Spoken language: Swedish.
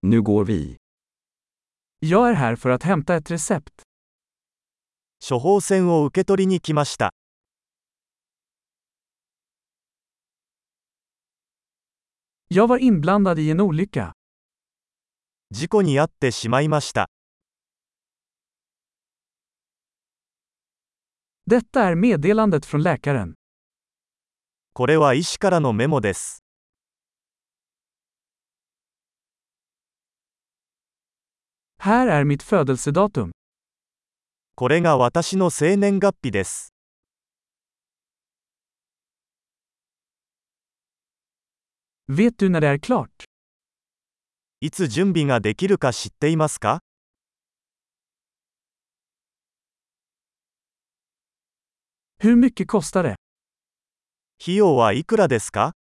Nu går vi. Jag är här för att hämta ett recept. 処方箋を受け取りに来ました。 Jag var inblandad i en olycka. 事故に遭ってしまいました。 Detta är meddelandet från läkaren. これは医師からのメモです。 Här är mitt födelsedatum. これが私の生年月日です。 Vet du när det är klart? いつ準備ができるか知っていますか？ Hur mycket kostar det? 費用はいくらですか？